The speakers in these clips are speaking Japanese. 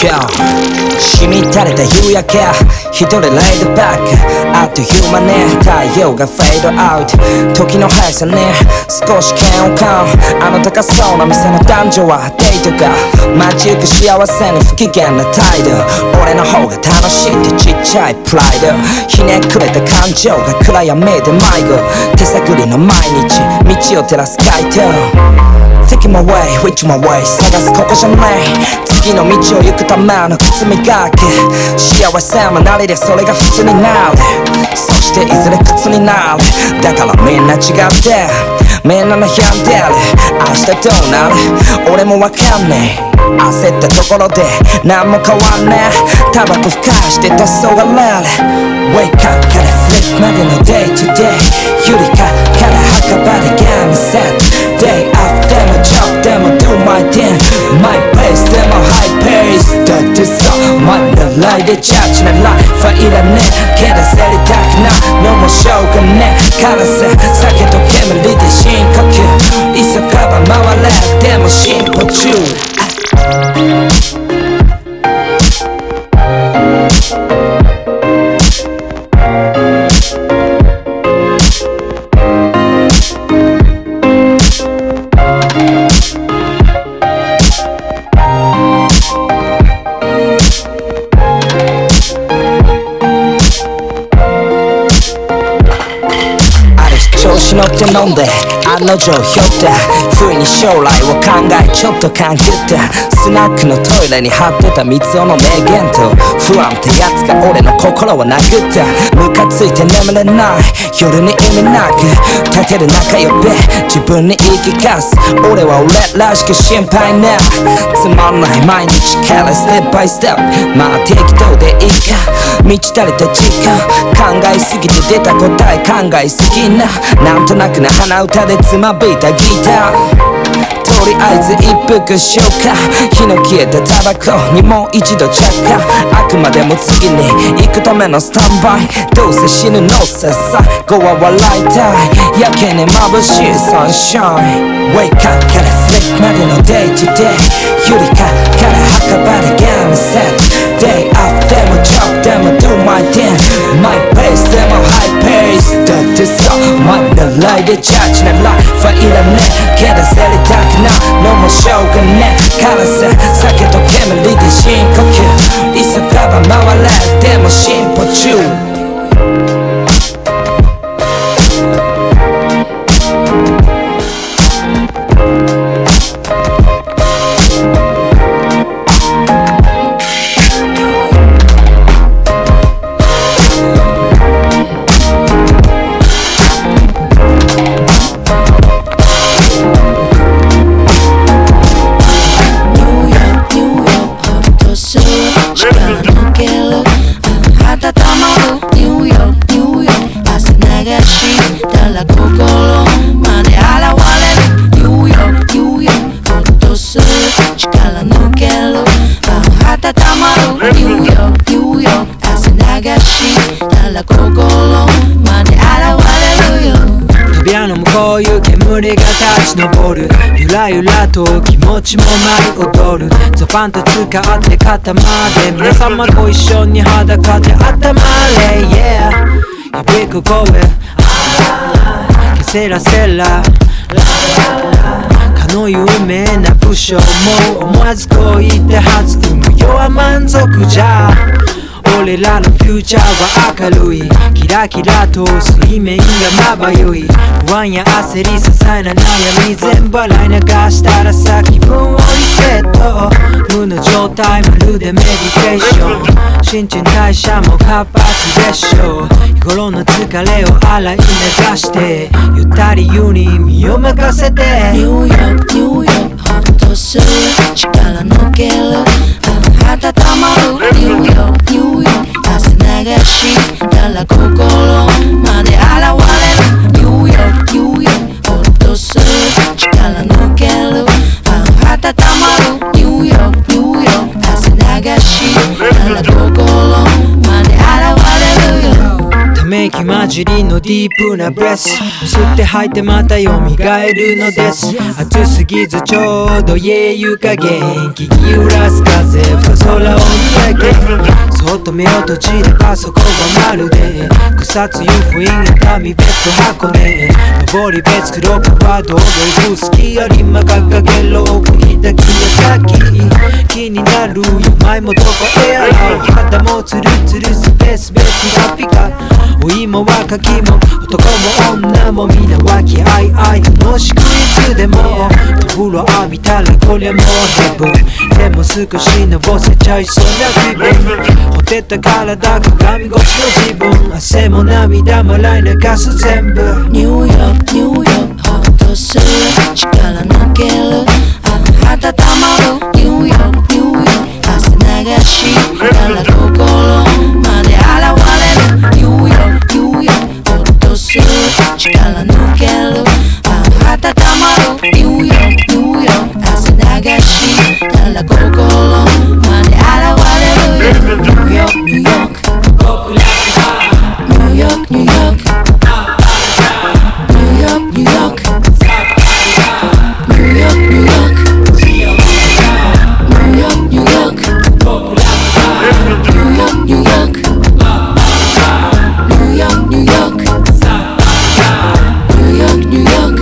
今日しみ垂れた夕焼け一人レイドバックあっという間ね太陽がフェードアウト時の速さね少し嫌悪感あの高そうな店の男女はデートが街行く幸せに不機嫌な態度俺の方が楽しいってちっちゃいプライドひねくれた感情が暗闇で迷子手探りの毎日道を照らす街灯Take my way, which my way 探すここじゃない次の道を行くための靴磨き幸せもなりでそれが普通になるそしていずれ靴になるだからみんな違ってみんな悩んでる明日どうなる俺もわかんねえ焦ったところで何も変わんねえタバコふかして黄昏れる Wake up から sleep までの day to day ゆりかから墓場でゲームセット Day off でも job でも do my thing My pace でも high pace だってさ前のライでチャーチなライフはいらねえけど焦りたくないのもしょうがねえからせ酒と煙で深呼吸急がば回れでも進歩中調子乗って飲んで案の定ひょった不意に将来を考えちょっと勘ぐったスナックのトイレに貼ってた三つ男の名言と不安ってやつが俺の心を殴ったムカついて眠れない夜に意味なく立てる仲良べ自分に言い聞かす俺は俺らしく心配なつまんない毎日からステップバイステップまあ適当でいいか満ち足りた時間考えすぎて出た答え考えすぎななんとなくな鼻歌でつまびいたギターとりあえず一服しようか火の消えたタバコにもう一度着火あくまでも次に行くためのスタンバイどうせ死ぬのささ後は笑いたいやけに眩しいサンシャイン Wake up から sleep までの day to day ゆりかから墓場でゲームセット Day off でも job でも do my thing My pace でも high pace だってさ前のライでチャーチなライフはいらねえけど焦りたくないのもしょうがねえからさ酒と煙で深呼吸急がば回れでも進歩中扉の向こういう煙が立ち上るゆらゆらと気持ちも舞い踊るゾパンと使って肩まで皆様ご一緒に裸で頭れ Yeah Here we go going ケセラセラかの有名な武将も思わずこう言って弾む世は満足じゃ俺らのフューチャーは明るいキラキラと水面がまばゆい不安や焦り些細な悩み全部洗い流したらさ気分をリセット無の状態まるでメディテーション新陳代謝も活発でしょ日頃の疲れを洗い流してゆったり湯に身を任せてニューヨークニューヨークホッとする力抜ける温まるニューヨークニューヨーク汗流したら心まで現れるニューヨークニューヨークホッとする力抜ける温まるニューヨークニューヨーク汗流したら心まで現れるよため息息混じりのディープなブレス、吸って吐いてまた蘇るのです。暑すぎずちょうど湯加減、聞き揺らす風ふと空を見上げ、そっと目を閉じればそこがまるで草津湯布院熱海別府箱根、登り別黒川道路行く好きよりま掲げろ奥に抱きや先気になるよ前もどこへやろう、肌もツルツルスペースベピカピカ、お芋はかきも男も女も皆和気あいあい楽しくいつでもお風呂浴びたらこりゃもうヘブン、でも少しのぼせちゃいそうな気分、ほてった体鏡越しの自分、汗も涙も洗い流す全部。 ニューヨークニューヨークホッとする力抜ける温まるニューヨークニューヨーク汗流したら心まで現れるニューヨークニューヨークホッとする力抜ける温まるニューヨークニューヨーク汗流したら心まで現れるニューヨークニューヨークニューヨークニューヨークNew York, New York, New York, New York, New York, New York, New York, New York, New York, New York, New York, New York.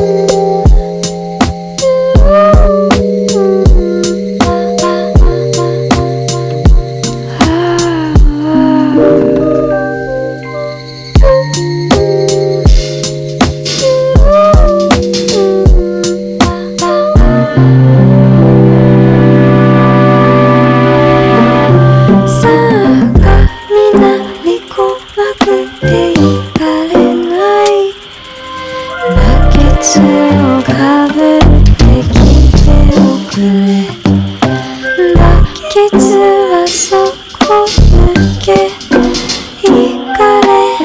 「 実はそこ抜け行かれ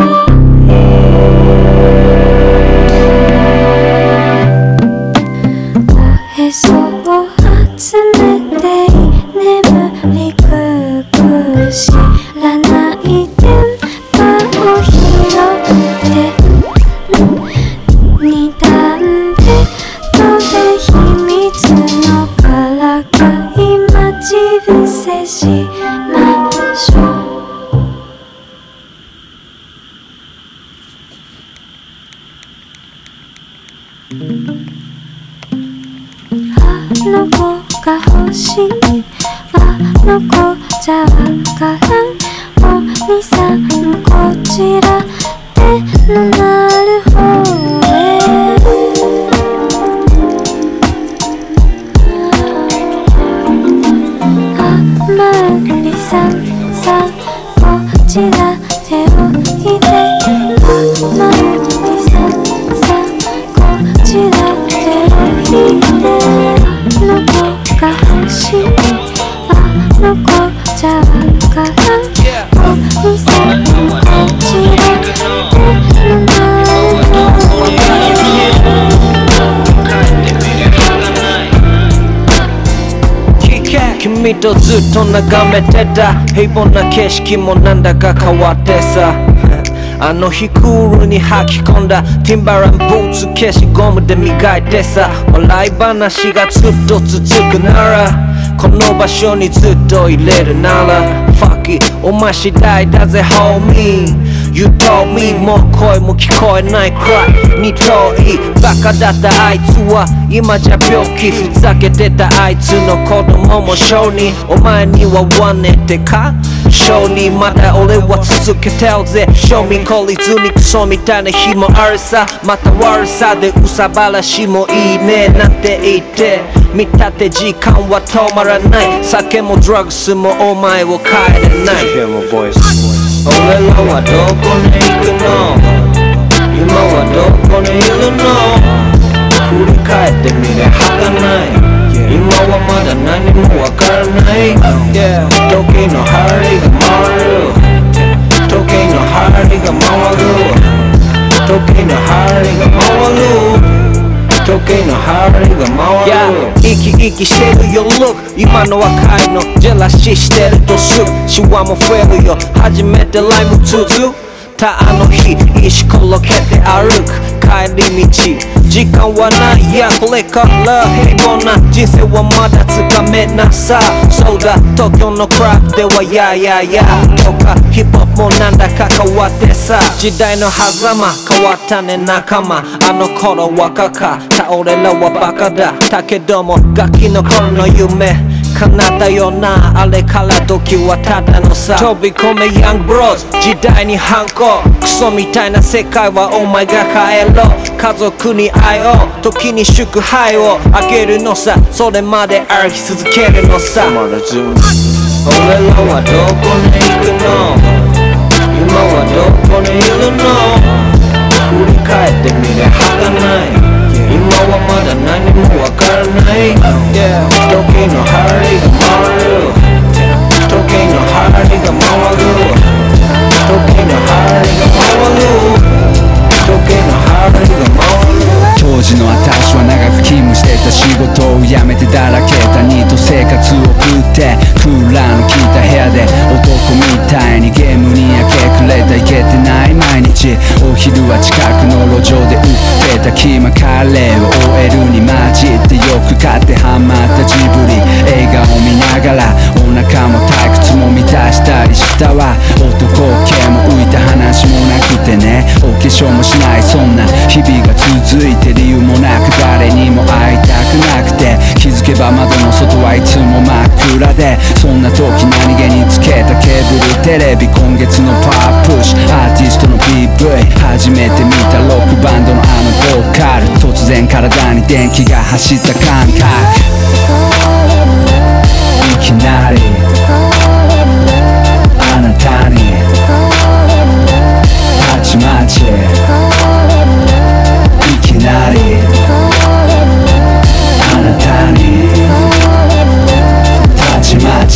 おへそを集めて眠りくく知らない電波を拾って二段ベッドで秘密のからか今自伏せしましょうあの子が欲しいあの子じゃわからんお兄さんこちらでのなる方へあまりさんさこちら手を置いてあまりさんさこちら手を置いてあの子が欲しいあの子じゃわからんお兄さんこちらでのなる方へ君とずっと眺めてた平凡な景色もなんだか変わってさあの日クールに履き込んだティンバランブーツ消しゴムで磨いてさ笑い話がずっと続くならこの場所にずっといれるなら Fuck it お前次第だぜ homie You told me もう声も聞こえないくらいに遠いバカだったあいつは今じゃ病気ふざけてたあいつの子供も小児お前にはワネってか小児まだ俺は続けてるぜ賞味懲りずにクソみたいな日もあるさまた悪さでうさばらしもいいねなんて言って見立て時間は止まらない酒もドラッグスもお前を変えれない俺らはどこに行くの今はどこにいるの振り返ってみれ儚い今はまだ何もわからない時の針が回る時の針が回る時の針が回る時の針が回る生き生きしてるよ Look 今の若いのジェラシーしてるとすぐシワも増えるよ初めてライム続たあの日石ころけて歩く帰り道時間はないやこれから平凡な人生はまだつかめなさそうだ東京のクラブではやややとかヒップホップもなんだか変わってさ時代の狭間変わったね仲間あの頃若かった俺らはバカだだけどもガキの頃の夢叶ったよなあれから時はただのさ飛び込めヤングブローズ時代に反抗クソみたいな世界はお前が変えろ家族に愛を時に祝杯をあげるのさそれまで歩き続けるのさ俺らはどこに行くの今はどこにいるの振り返ってみれ儚い今はまだ何もわからない時の針が回る時の針が回る時の針が回る時の針が回る当時の私は長く勤務してた仕事を辞めてだらけたニート生活を送ってクーラーの効いた部屋で男みたいにゲームに明け暮れたいけてない毎日お昼は近くの路上で売ってたキーマカレーを OL に混じってよく買ってハマったジブリ映画を見ながらお腹も退屈も満たしたりしたわ男系も浮いた話もなくてねお化粧もしないそんな日々が続いて理由もなく誰にも会いたくなくて気づけば窓の外はいつも真っ暗でそんな時何気につけたケーブルテレビ今月のパワープッシュアーティストの PV 初めて見たロックバンドのあのボーカル突然体に電気が走った感覚いきなりあなたにたちまちいきなりあなたにたちまち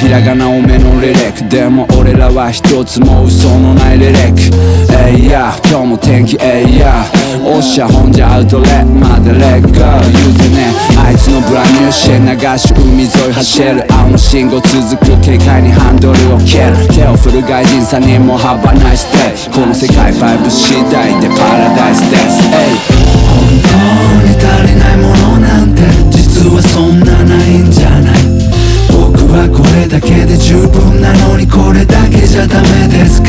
ひらがな多めのリリックでも俺らは一つも嘘のないリリックいや今日も天気いやおっしゃほんじゃアウトレットまでレッゴー言うてねあいつのブランニューシェ流し海沿い走る青の信号続く軽快にハンドルを蹴る手を振る外人さんにもハバナイスデイこの世界バイブ次第でパラダイスです本当に足りないものなんて実はそんなないんじゃない僕はこれだけで十分なのにこれだけじゃダメですか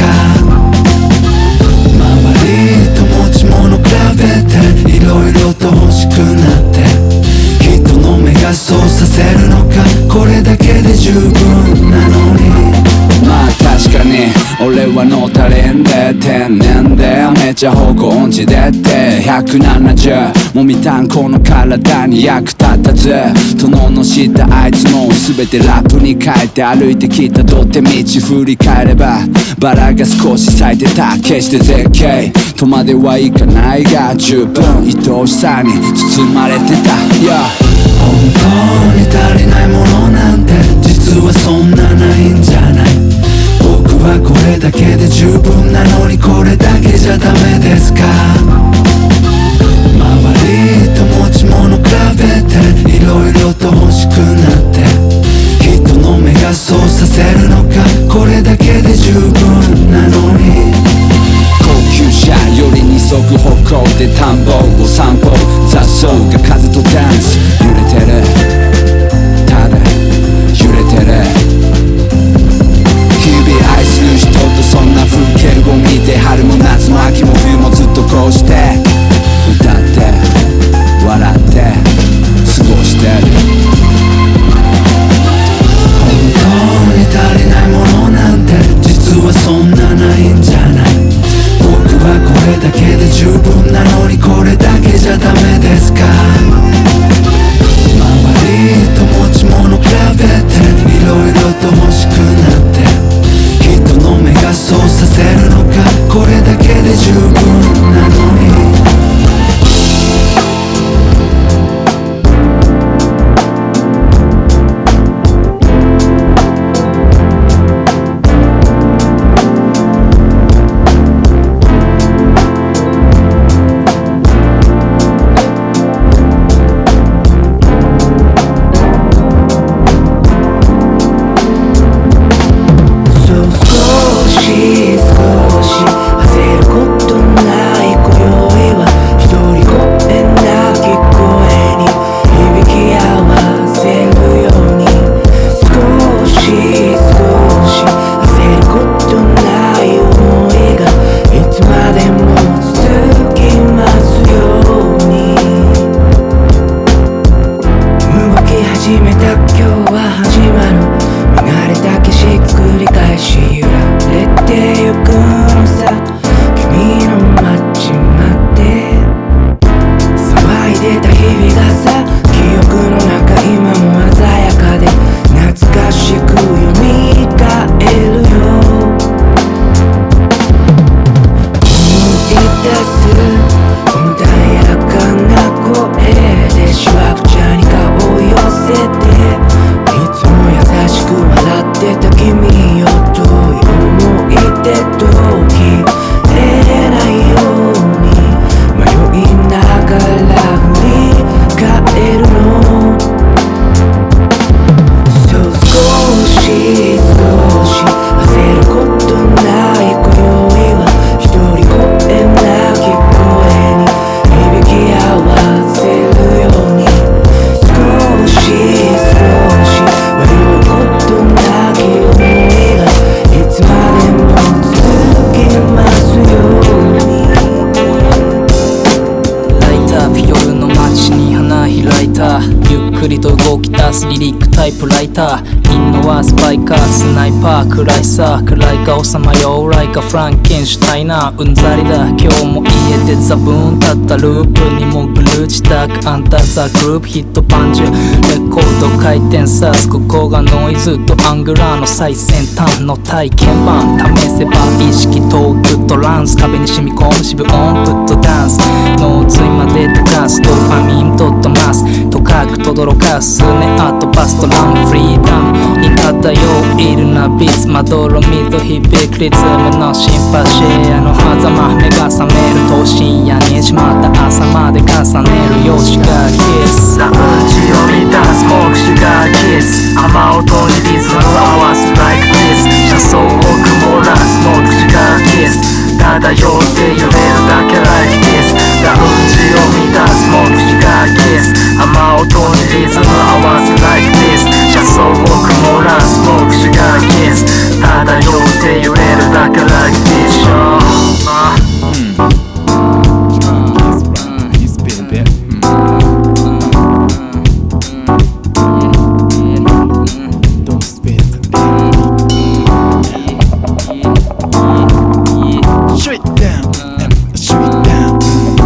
周りと持ち物比べていろいろと欲しくなって人の目がそうさせるのかこれだけで十分なのにまあ確かに俺はのたれんで天然でめっちゃ方向音痴でって170もみたんこの体に役立たず殿の下あいつも全てラップに変えて歩いてきた土手道振り返ればバラが少し咲いてた決して絶景とまではいかないが十分愛おしさに包まれてた、yeah、本当に足りないものなんて実はそんなないんじゃない僕はこれだけで十分なのにこれだけじゃダメですか周りと持ち物比べていろいろと欲しくなって人の目がそうさせるのかこれだけで十分なのに高級車より二足歩行で田んぼを散歩雑草が風とダンス揺れてるただ揺れてる日々愛する人とそんな風景を見て春も夏も秋も冬もずっとこうして歌って笑って過ごしてる本当に足りないものなんて実はそんなないんじゃない僕はこれだけで十分なのにこれだけじゃダメですか周りと持ち物比べていろいろと欲しくなって人の目がそうさせるのかこれだけで十分なのにリリックタイプライターインノはスパイカースナイパー暗いさ暗い顔さまようライカフランケンシュタイナーうんざりだ今日も家でザブーン立ったループにもぐる自宅あんたザグループヒットパンチレコード回転さすここがノイズとアングラーの最先端の体験版試せば意識トークトランス壁に染み込む渋音プットダンス脳髄まで溶かすドーパミンドットマスとかく届驚かすねあとバストランフリーダムに漂うイルなビーツまどろみと響くリズムのシンパシーの狭間目が覚めると深夜にしまった朝まで重ねるよシガーキスラウンジを満たすスモークシガーキス雨音にリズム合わす like this 車窓を曇らすスモークシガーキス漂って揺れるだけ like this ラウンジを満たすスモークシガーキス雨音にリズム合わす like this 車窓を曇らすスモークシガーキス漂って揺れるだけ like this He's been there. Don't spit straight down, straight down.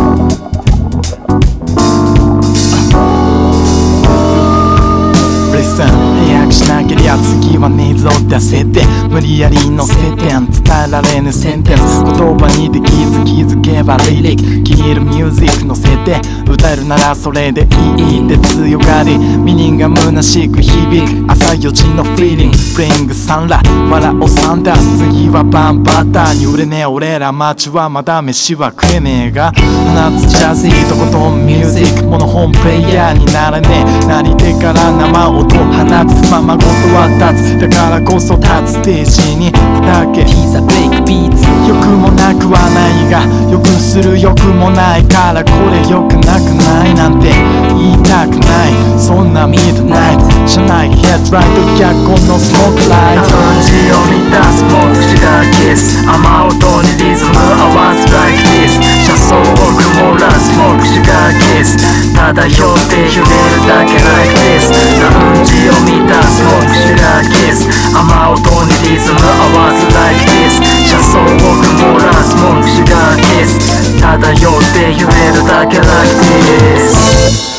Listen 早くしなけりゃ次はねえぞ出せて無理やり乗せて伝えられぬセンテンス言葉にできず気づけばリリック気に入るミュージック乗せて歌えるならそれでいいって強がりミニンが虚しく響く朝4時のフィーリングプレイングサンラ笑おサンダース次はバンバターに売れねえ俺ら街はまだ飯は食えねえが放つジャズィーとことんミュージックモノホンプレイヤーにならねえなり手から生音放つままごとは立つだからこそ立つステージにだけピザベイクビーツ欲もなくはないがよくする欲もないからこれ良くなくないなんて言いたくないそんなミッドナイト車内ヘッドライト逆光のスモークライトラウンジを満たすスモークシガーキス雨音にリズム合わす like this 車窓を曇らすスモークシガーキス漂って揺れるだけ like this ラウンジを満たすスモークシガーキス雨音にリズム合わす like this 車窓を曇らすスモークシガーキス漂って揺れるだけ like this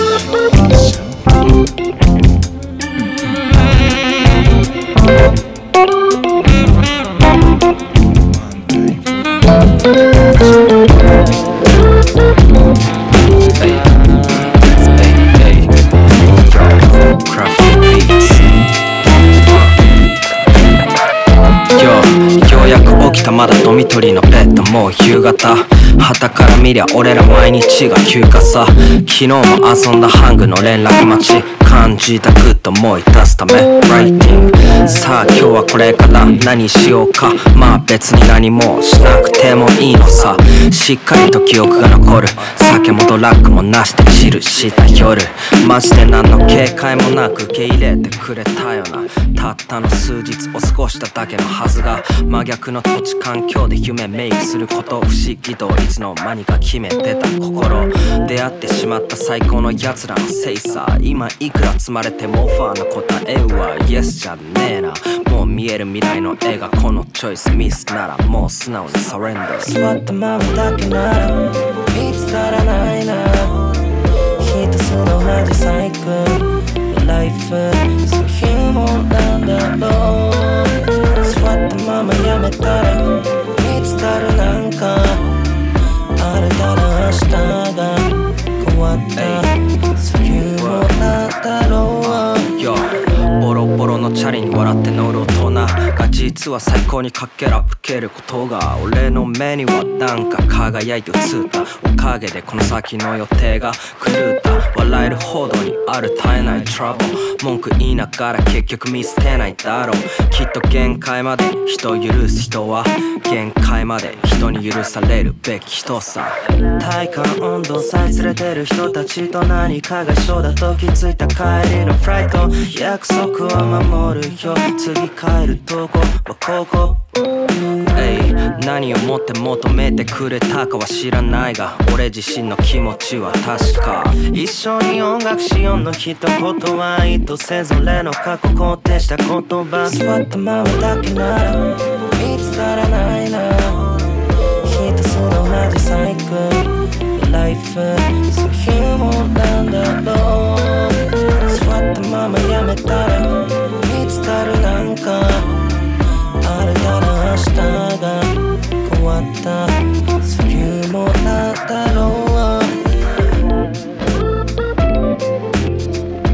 ようやく起きたまだドミトリーのベッドもう夕方旗から見りゃ俺ら毎日が休暇さ昨日も遊んだハングの連絡待ち感じたグッと思い出すためライティングさあ今日はこれから何しようかまあ別に何もしなくてもいいのさしっかりと記憶が残る酒もドラッグもなしでチルした夜マジで何の警戒もなく受け入れてくれたよなたったの数日を過ごしただけのはずが真逆の土地環境で夢メイクすること不思議といつの間にか決めてた心出会ってしまった最高の奴らのせいさ今いくら積まれてもオファーの答えは Yes じゃねえなもう見える未来の絵がこのチョイスミスならもう素直にサレンダー座ったままだけなら見つからないなひたすら同じサイクルライフそういうもんなんだろう座ったままやめたら見つかるなんかあれだら明日が変わったそういうもんなんだろうボロボロのチャリに笑って乗る大人が実は最高にかけら吹けることが俺の目にはなんか輝いて映ったおかげでこの先の予定が狂った笑えるほどにある絶えないトラブル文句言いながら結局見捨てないだろうきっと限界まで人を許す人は限界まで人に許されるべき人さ体感温度さえ連れてる人たちと何かが一緒だと気づいた帰りのフライト約束は守るよ次帰るとこはここ何をもって求めてくれたかは知らないが俺自身の気持ちは確か一緒に音楽しようの一言は意図せず俺の過去肯定した言葉座ったままだけなら見つからないなひたすら同じサイクルライフそういうもんなんだろう座ったままやめたら見つかるなんかあれだら明日が変わったそういうもんなんだろう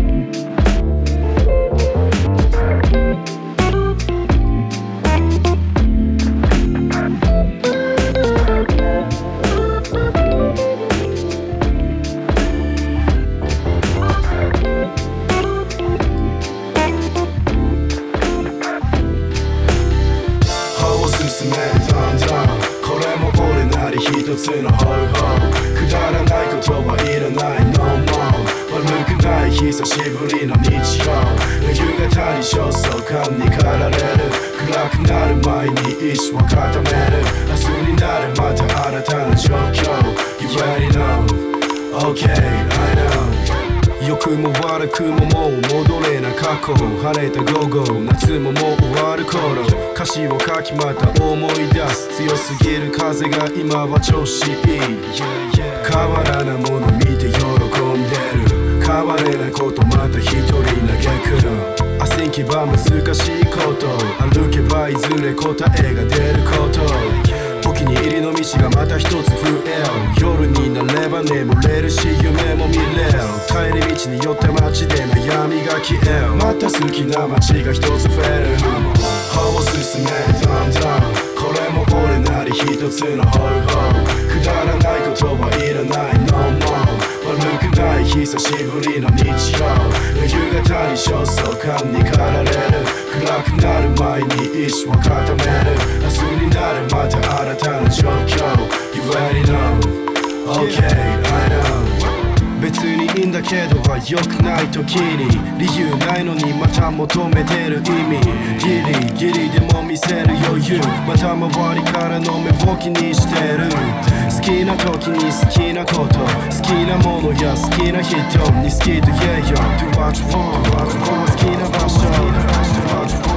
久しぶりの日曜夕方に焦燥感に駆られる暗くなる前に意志を固める明日になるまた新たな状況 You already know Okay I know良くも悪くももう戻れな過去晴れた午後夏ももう終わる頃歌詞を書きまた思い出す強すぎる風が今は調子いい変わらないもの見て喜んでる変われないことまた一人嘆くの焦けば難しいこと歩けばいずれ答えが出ることお気に入りの道がまた一つ増え夜になれば眠れるし夢も見れる帰り道に寄って街で悩みが消えるまた好きな街が一つ増える歩を進めどんどんこれも俺なり一つの方法くだらないことはいらない No more 悪くない久しぶりの日曜夕方に焦燥感に駆られる暗くなる前に意志を固める明日になるまた新たな状況 You already know Okay I know 別にいいんだけどは良くない時に理由ないのにまた求めてる意味ギリギリでも見せる余裕また周りからの目を気にしてる好きな時に好きなこと好きなものや好きな人に好きと言えよ Do what you want 好きな場所 Do what you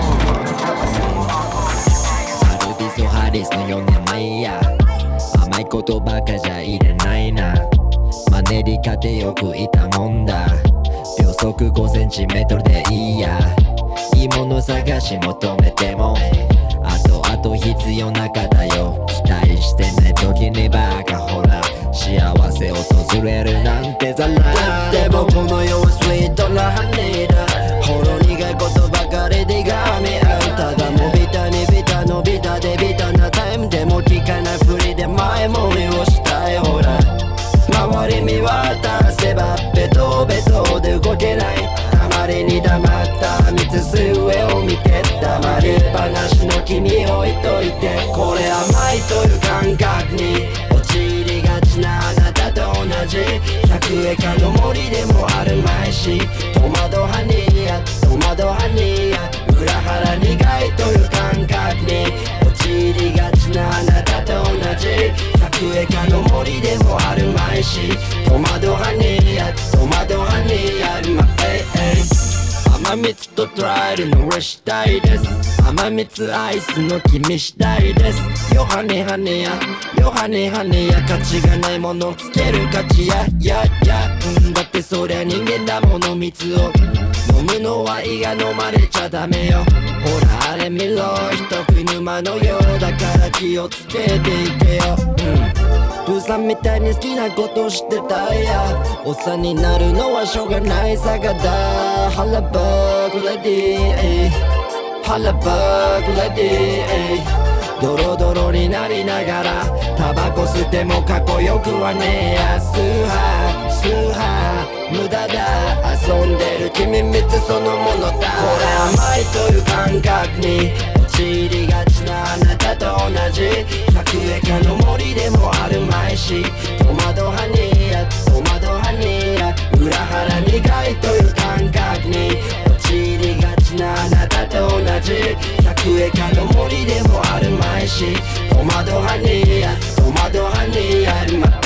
want アルビソハリスの4年前や甘いことばかじゃいれないなマネリカでよくいたもんだ秒速 5cm でいいやいいもの探し求めてもあと必要なかだよ期待してない時にバカほら幸せ訪れるなんてざらでもこの世はスイートなハニーだほろ苦いことばかりでがみ合うただもビタにビタのビタでビタなタイムでも聞かないふりで前もみをしたいほら周り見渡せばベトベトで動けないあまりに黙った道す上を見て黙りっぱなしの君置いといてこれ甘いという感覚に陥りがちなあなたと同じ百円かの森でもあるまいし戸惑はにや戸惑はにや裏腹苦いという感覚に陥りがちなあなたと同じ百円かの森でもあるまいし戸惑はにや戸惑はにや甘蜜とトライルの俺したいです甘蜜アイスの君したいですよハネハネやよハネハネや価値がないものつける価値やだってそりゃ人間だもの蜜を飲むのは胃が飲まれちゃダメよほらあれ見ろ人食い沼のようだから気をつけていけよプーさんみたいに好きなことしてたやおっさんになるのはしょうがないさがだハラバーグレディハラバーグレディドロドロになりながらタバコ吸ってもかっこよくはねえやスーハースーハー無駄だ遊んでる君蜜そのものだこれ甘いという感覚に陥りがちなあなたと同じ百円かの森でもあるまいし戸惑はにや戸惑はにや裏腹苦いという感覚に陥りがちなあなたと同じ百円かの森でもあるまいし戸惑はにや戸惑はにや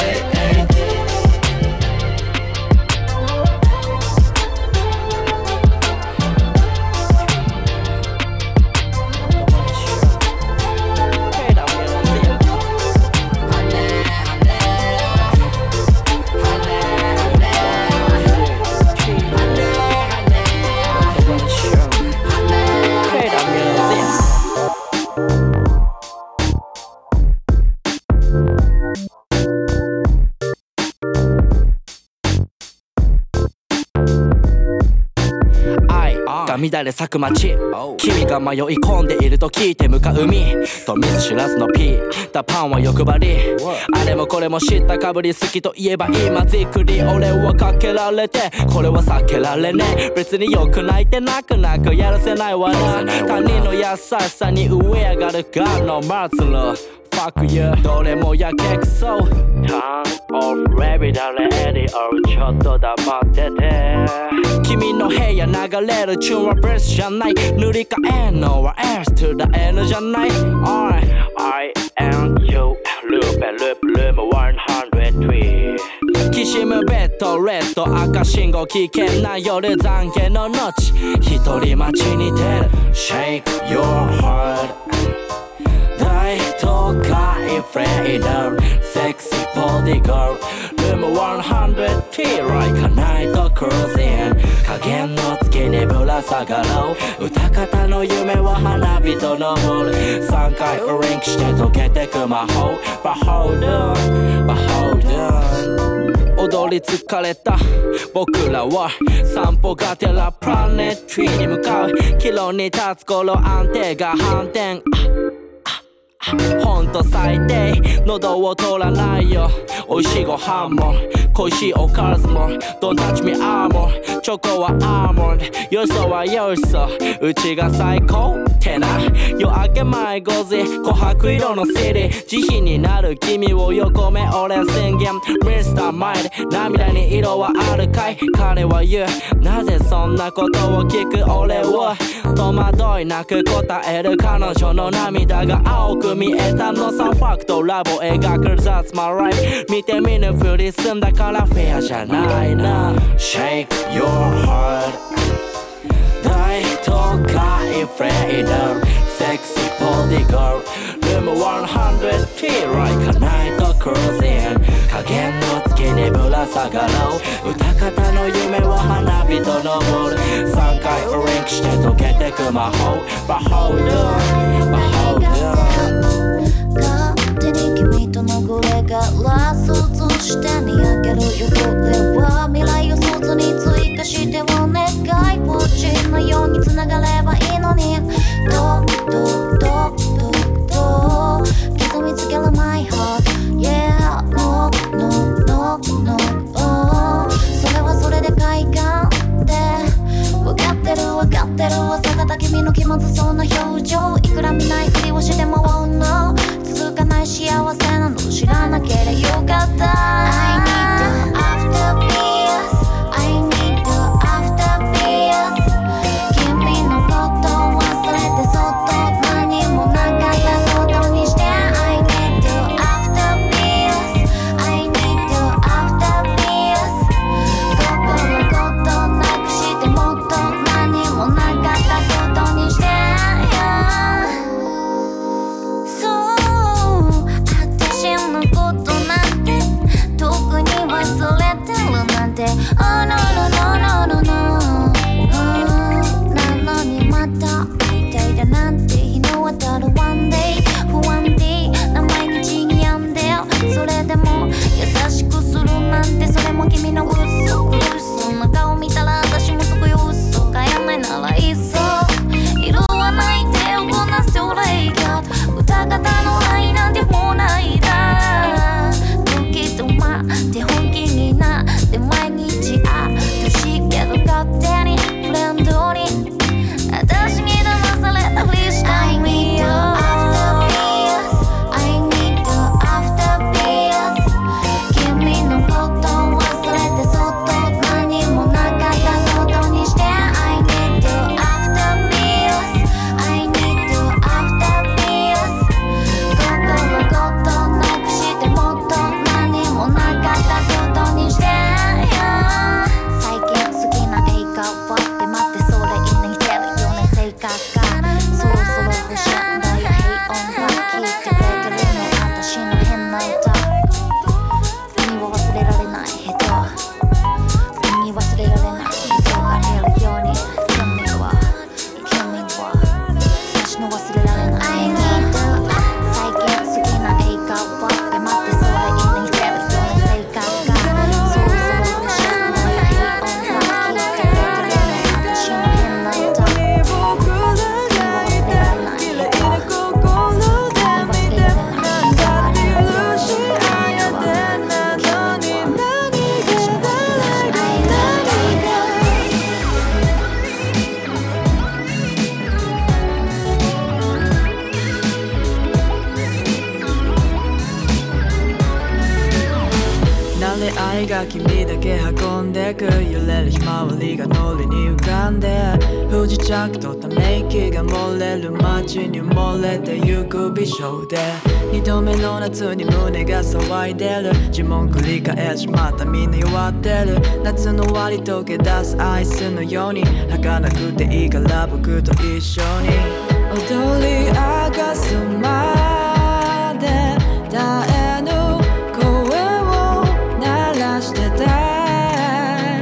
乱れ咲く街君が迷い込んでいると聞いて向かう海と見ず知らずのピータパンは欲張りあれもこれも知ったかぶり好きと言えば今じっくり俺はかけられてこれは避けられねえ別によくないって泣く泣くやらせないわな他人の優しさに上上がるがのマツルフ fuck you どれもやけくそ Turn off baby 誰エディオちょっと黙ってて君の部屋流れるチューンはブレスじゃない塗り替えんのは S to the N じゃない I and you loop and loop loop 103きしむベッドレッド赤信号危険な夜懺悔の後一人待ちに出る Shake your heart 大都会フレーダー Sexy body girl Room 100T Like a night cruising 影の月にぶら下がろう歌方の夢は花火と昇る3回リンクして溶けてく魔法 But hold on But hold on 踊り疲れた僕らは散歩がてらプラネットリーに向かう岐路に立つ頃安定が反転ほんと最低喉を通らないよ美味しいご飯も恋しいおかずも Don't touch me armor チョコはアーモンドよそはよそうちが最高ってな夜明け前5時琥珀色のシティ慈悲になる君を横目俺宣言 Mr. Mind 涙に色はあるかい彼は言うなぜそんなことを聞く俺を戸惑いなく答える彼女の涙が青く見えたのさファクトラボ描く That's my life 見て見ぬふり済んだからフェアじゃないな Shake your heart 大都会フレーダー Sexy body girl Room 100T Like a night cruising 影の月にぶら下がろう歌方の夢は花火と昇る3回リンクして溶けてく魔法 But hold on But hold on 勝手に君とのグレがラ想像して見上げるよこれは未来を想像に追加してお願いポチのように繋がればいいのにど刻みつける My heart Yeah No No No No Oh それはそれで快感で分かってる朝方君の気まずそうな表情いくら見ないふりをしても Oh no 続かない幸せなの知らなければよかった I need to after peace I need to after peace 君のこと忘れてそっと何もなかったことにして I need to after peace I need to after peace 心ごとなくしてもっと何もなかったことにしてが君だけ運んでく揺れるひまわりがノリに浮かんで不時着とため息が漏れる街に埋もれてゆく美少で二度目の夏に胸が騒いでる呪文繰り返しまたみんな弱ってる夏の終わり溶け出すアイスのように儚くていいから僕と一緒に踊り明かすまで絶えぬ声を鳴らしてたい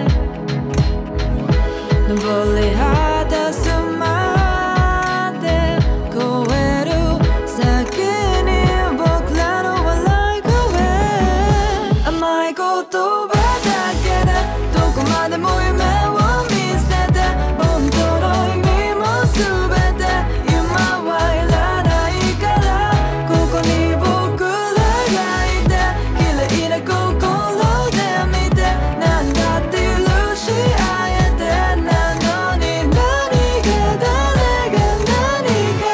登り果たすまで越える先に僕らの笑い声甘い言葉だけでどこまでも夢を見せて本当の意味も全て今はいらないからここに僕らがいて綺麗な心で見て何だって許し合えてなのに何が誰が何か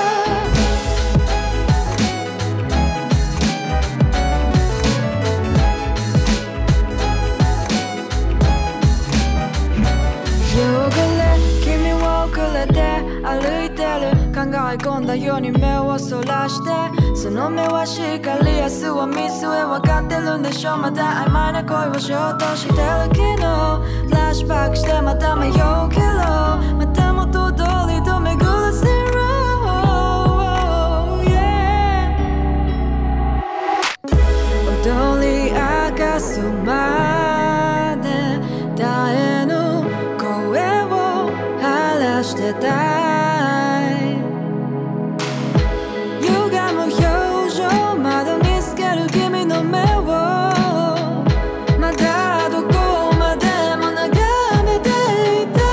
汚れ君をくれて歩いてる考え込んだように目をそらしてその目は光明日は見据え分かってるんでしょまた曖昧な恋をしようとしてる昨日フラッシュバックしてまた迷うけどまた元通りと巡らせろ、yeah、踊り明かすまで絶えぬ声を晴らしてたい歪む表情窓に透ける君の目をまだどこまでも眺めていた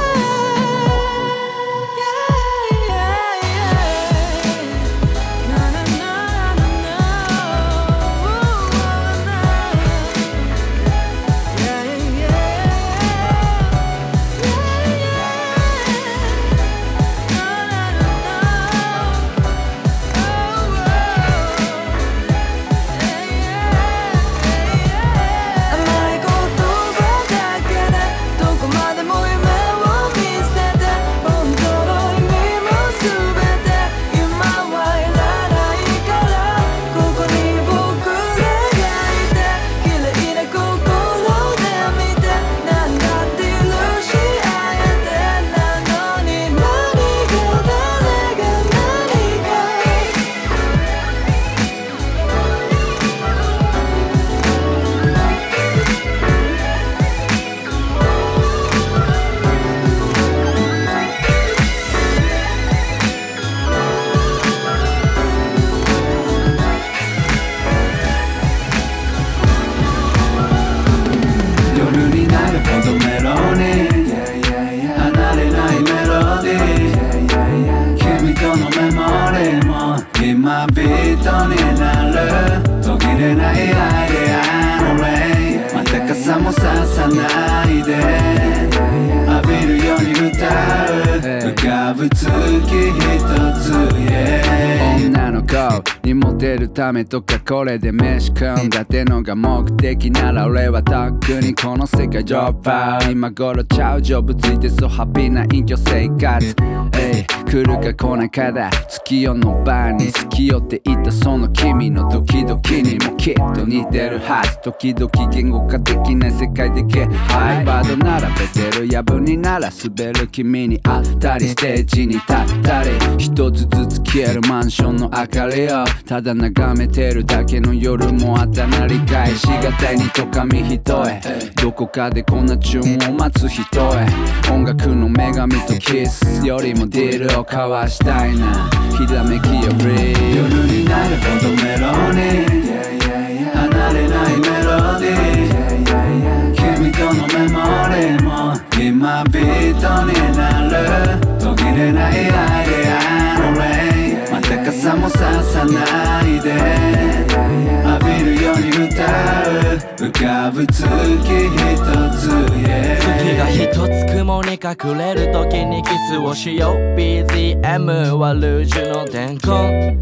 今ビートになる途切れないアイデアのレインまた傘もささないで浴びるように歌う浮かぶ月一つ、yeah、女の子にモテるためとかこれで飯食うんだってのが目的なら俺はとっくにこの世界ドロップアウト今頃ちゃうジョブついてそうハッピーな隠居生活来るか来ないかだ月夜の晩に好きよって言ったその君のドキドキにもきっと似てるはず時々言語化できない世界的ハイバード並べてるやぶになら滑る君に会ったりステージに立ったり一つずつ消えるマンションの明かりをただ眺めてるだけの夜もあったなり返しがたいにとかみ人へどこかでこんな注文を待つ人へ音楽の女神とキスよりもディールを交わしたいなひらめきより夜になるほどメロに離れないメロディー君とのメモリーも今ビートになる途切れないアイデアのレインまた傘もささないで浴びるように歌う浮かぶ月一つ、yeah、 月が一つ雲に隠れる時にキスをしよう BGM はルージュの伝言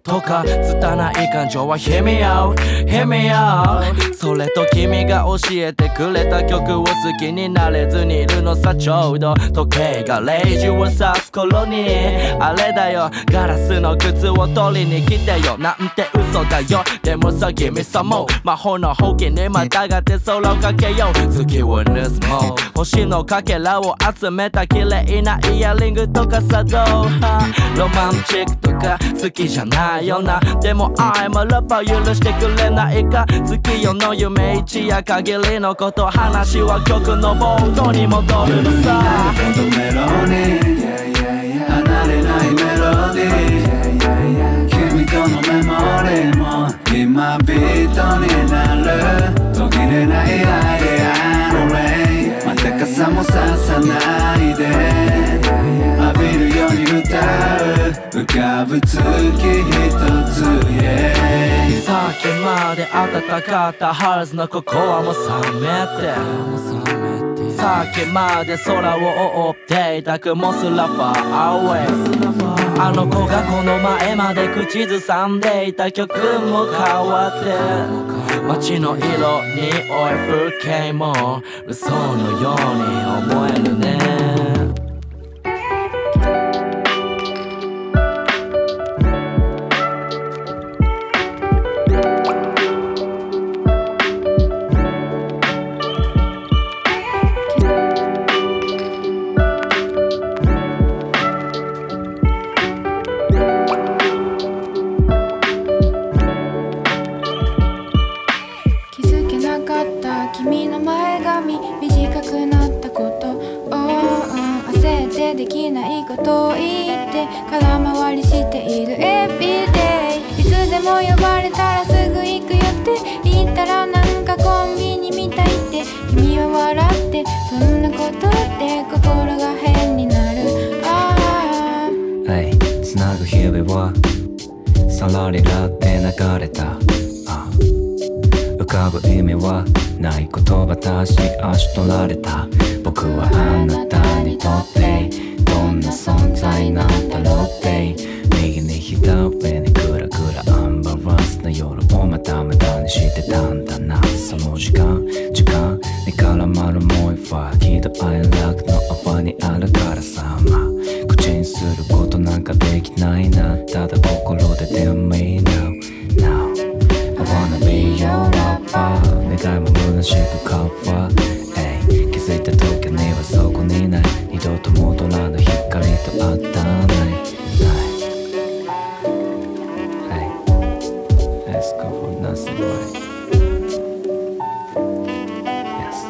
とか拙い感情は Hear me out Hear me out それと君が教えてくれた曲を好きになれずにいるのさちょうど時計が0時を指す頃にあれだよガラスの靴を取りに来てよなんて嘘だよでもさ君さも魔法のほうきにまたがって空をかけよう月を盗もう星のかけらを集めた綺麗なイヤリングとかさどうロマンチックとか好きじゃないよなでも I'm a lover 許してくれないか月夜の夢一夜限りのこと話は曲の冒頭に戻るのさメロディー離れないメロディー君とのメモリーも今ビートになる途切れないアイデアのレイまた傘もささないで浴びるように歌う浮かぶ月一つ、yeah、 さっきまで暖かったハルズのココアも冷めてさっきまで空を覆っていた雲すらファーアウェイあの子がこの前まで口ずさんでいた曲も変わって街の色に追い風景も嘘のように思えるねできないことを言って空回りしている Everyday いつでも呼ばれたらすぐ行くよって言ったらなんかコンビニみたいって君は笑ってそんなことって心が変になるつなぐ日々はさらりらって流れた浮かぶ意味はない言葉たち足取られた僕はあなたにとってどんな存在なんだろうって右に左にグラグラアンバランスな夜をまた無駄にしてたんだなその時間に絡まるもう一は喜怒哀楽の泡にあるからさ口にすることなんかできないなただ心で Tell me now I wanna be your lover 願いも虚しくカバー気づいた時にはそこにない二度と戻らぬ光と当たらない Let's go for nothing right Yes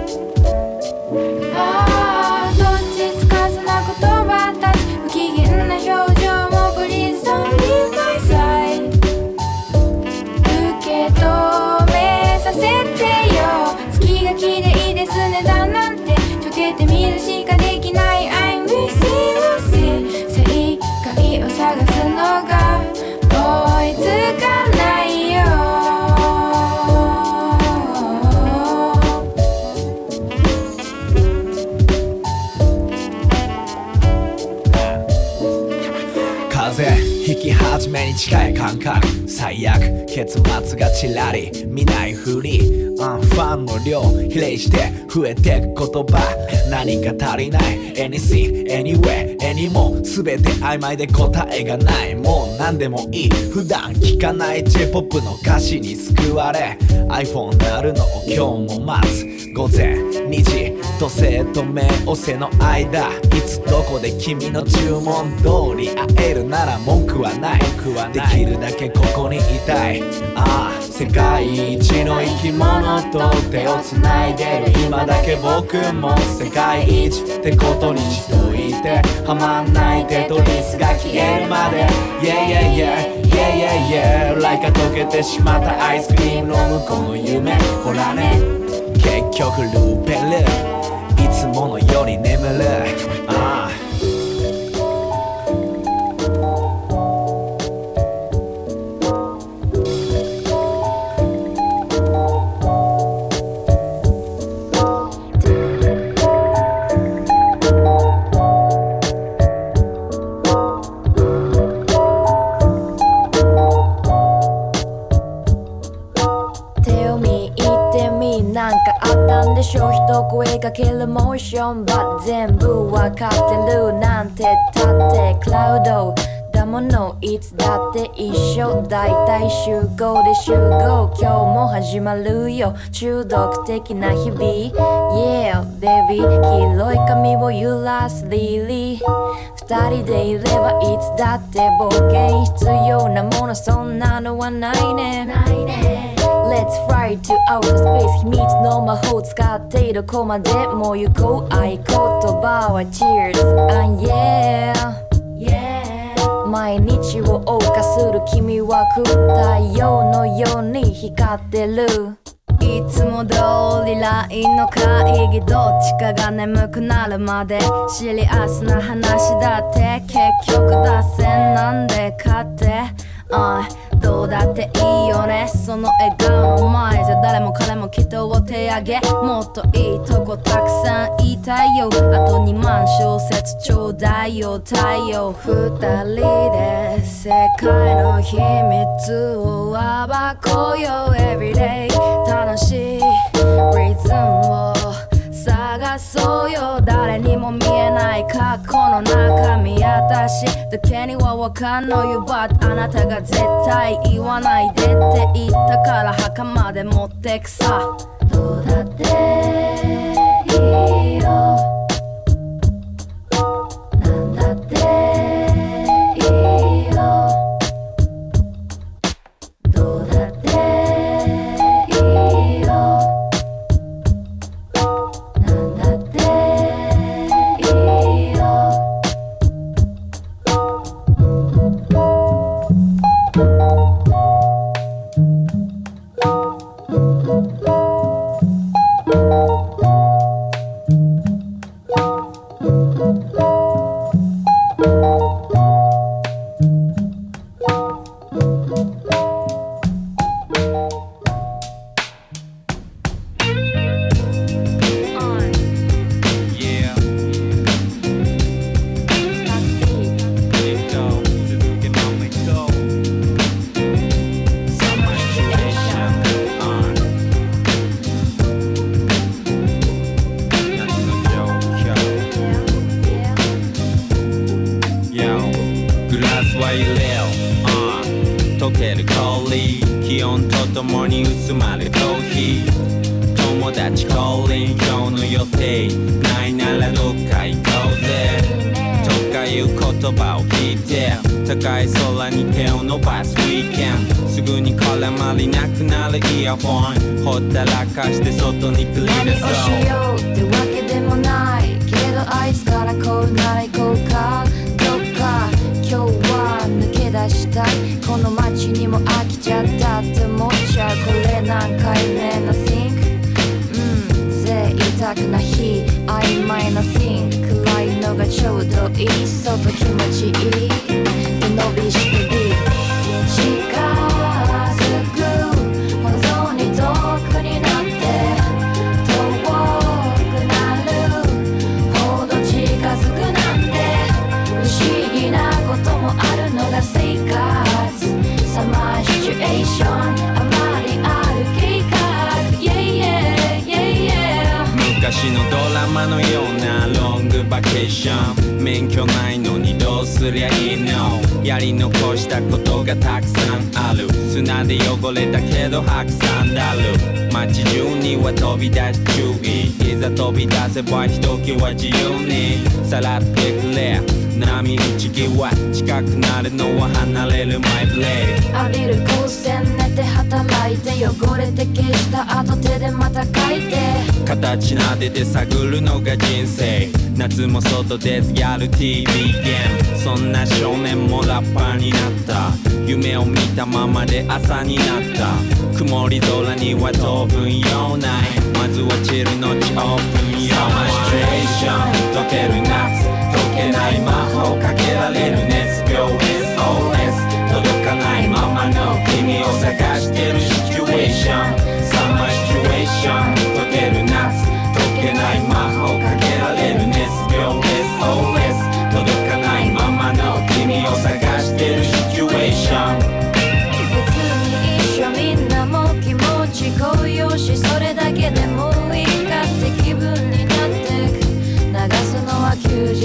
どっちつかずな言葉たち不機嫌な表情も Please don't leave my side 受け止めさせてよ月が綺麗ですねだなんてちょけてみるしかできない I'm with you 正解を探すのが追いつかないよ風引き始めに近い感覚最悪結末がちらり見ないふりファンの量比例して増えてく言葉何か足りない Anything, anywhere, anymore 全て曖昧で答えがないもう何でもいい普段聞かない J-POP の歌詞に救われ iPhone 鳴るのを今日も待つ午前2時土星と冥王星の間いつどこで君の注文通り会えるなら文句はないできるだけここにいたい世界一の生き物と手をつないでる今だけ僕も世界一ってことにしといてはまんないテトリスが消えるまで Yeah yeah yeah yeah yeah Like 溶けてしまったアイスクリームの向こうの夢ほらね結局ルーペルいつものより眠る出かけるモーション But 全部わかってるなんてたってクラウドだものいつだって一緒だいたい集合で集合今日も始まるよ中毒的な日々 Yeah baby 黄色い髪を揺らすリリー二人でいればいつだって冒険必要なものそんなのはないねLet's fly to outer space 秘密の魔法使ってどこまでも行こう合言葉は Cheers and yeah 毎日を謳歌する君は太陽のように光ってるいつも通り LINE の会議どっちかが眠くなるまでシリアスな話だって結局脱線なんでかってどうだっていいよねその笑顔の前じゃ誰も彼も人を手上げもっといいとこたくさん言いたいよあと2万小節ちょうだいよ太陽二人で世界の秘密を暴こうよ Everyday 楽しいリズムを探そうよ誰にも見えない過去の中身私だけにはわかんのよ But あなたが絶対言わないでって言ったから墓まで持ってくさどうだっていいよなんだっていいよどうだっていいよほったらかして外に繰り出そう何をしようってわけでもないけどあいつからこうなら行こうかどっか今日は抜け出したいこの街にも飽きちゃったって思っちゃうこれ何回目の Think 贅沢な日曖昧な Think 暗いのがちょうどいい外気持ちいいで伸びしてる近づく遠くになって遠くなるほど近づくなんて不思議なこともあるのが生活サマーシチュエーションあまりある計画 yeah, yeah, yeah, yeah 昔のドラマのようなロングバケーション免許ないのにどうすりゃいいのやり残したことがたくさんある砂で汚れたけど白山だる街中には飛び出し注意いざ飛び出せばひときわ自由にさらってくれ波打ち際近くなるのは離れるマイブレイ浴びる光線寝て働いて汚れて消した後手でまた書いて形撫でて探るのが人生夏も外ですやる TV ゲームそんな少年もラッパーになった夢を見たままで朝になった曇り空には当分用ないまずはチルのちオープン用サマーシチュエーション溶ける夏解けない魔法かけられる熱病 SOS 届かないままの君を探してるシチュエーションサマーシチュエーション溶ける夏解けない魔法かけられる熱病 SOS 届かないままの君を探してるシチュエーション別に一緒みんなも気持ち高揚しそれだけでもいいかって気分になる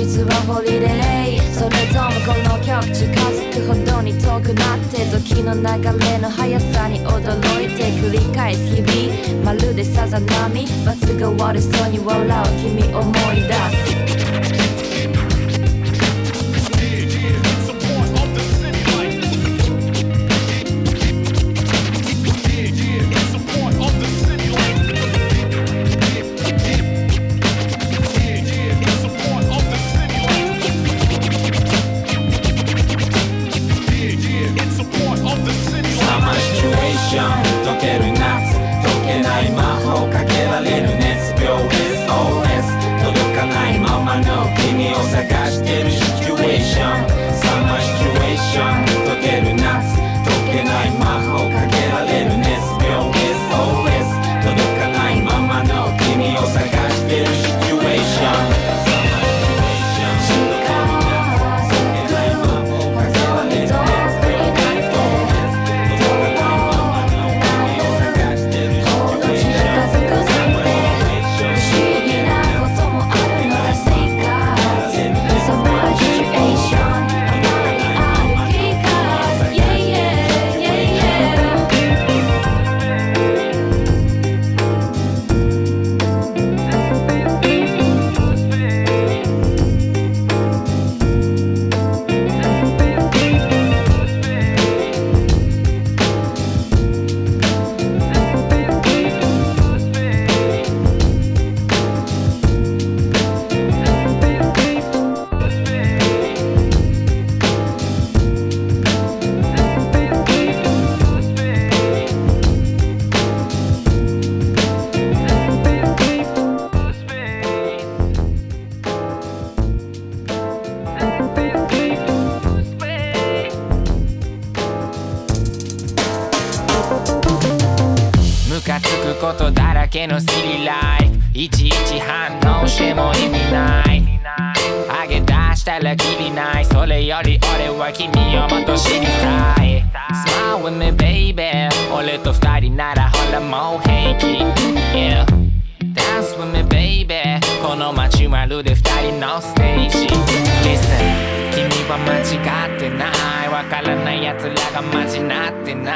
実はホリデー。それともこの曲近づくほどに遠くなって時の流れの速さに驚いて繰り返す日々、まるでさざ波、罰が悪そうに笑う君思い出す。 溶ける夏、溶けない魔法かけられる熱病 SOS 届かないままの君を探してるシチュエーション。サマーシチュエーション溶ける夏、溶けない魔法かけられる熱病 SOS 届かないままの君を探してるシチュエーション。 ことだらけのシリライフ、いちいち反応しても意味ない。上げ出したらキリない、それより俺は君をもっと知りたい。 Smile with me baby、 俺と二人ならほらもう平気、yeah。 Dance with me baby、 この街まるで二人のステージ。 Listen、 君は間違ってない、わからない奴らがマジなってない。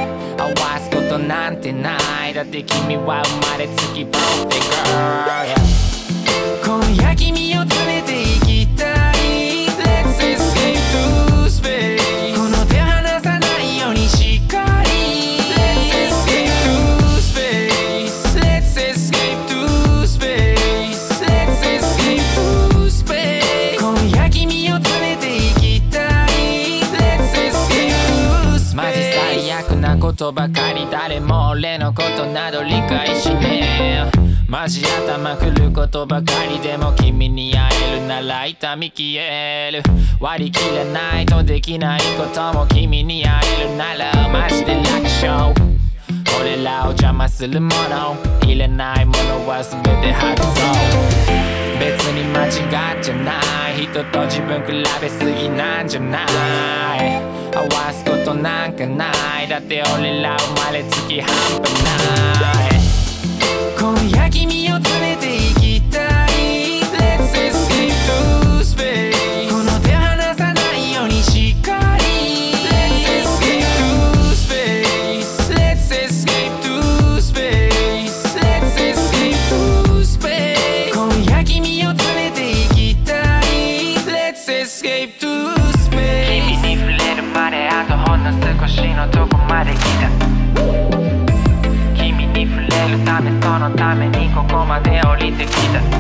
合わすことなんてない、だって君は生まれつき Perfect girl、yeah。 今夜君を連れて行きたい、 Let's escape to space、 この手離さないようにしっかり、 Let's escape to space、 Let's escape to space、 Let's escape to space、 今夜君を連れて行きたい、 Let's escape to space。 マジ最悪なことばかり、誰も俺のことなど理解しねえ。マジ頭くることばかりでも君に会えるなら痛み消える。割り切れないとできないことも君に会えるならマジで楽勝。俺らを邪魔するもの、いらないものは全て外そう。別に間違っちゃない、人と自分比べすぎなんじゃない。合わすことなんかない、だって俺ら生まれつき半端ない。今夜君を連れて行きたい、 Let's escape to space、 この手離さないようにしっかり、 Let's escape to space、 Let's escape to space、 Let's escape to space、 今夜君を連れて行きたい、 Let's escape to space。 君に触れるまであとほんの少しのとこまで来た。君に触れるためそのためにここまで降りてきた。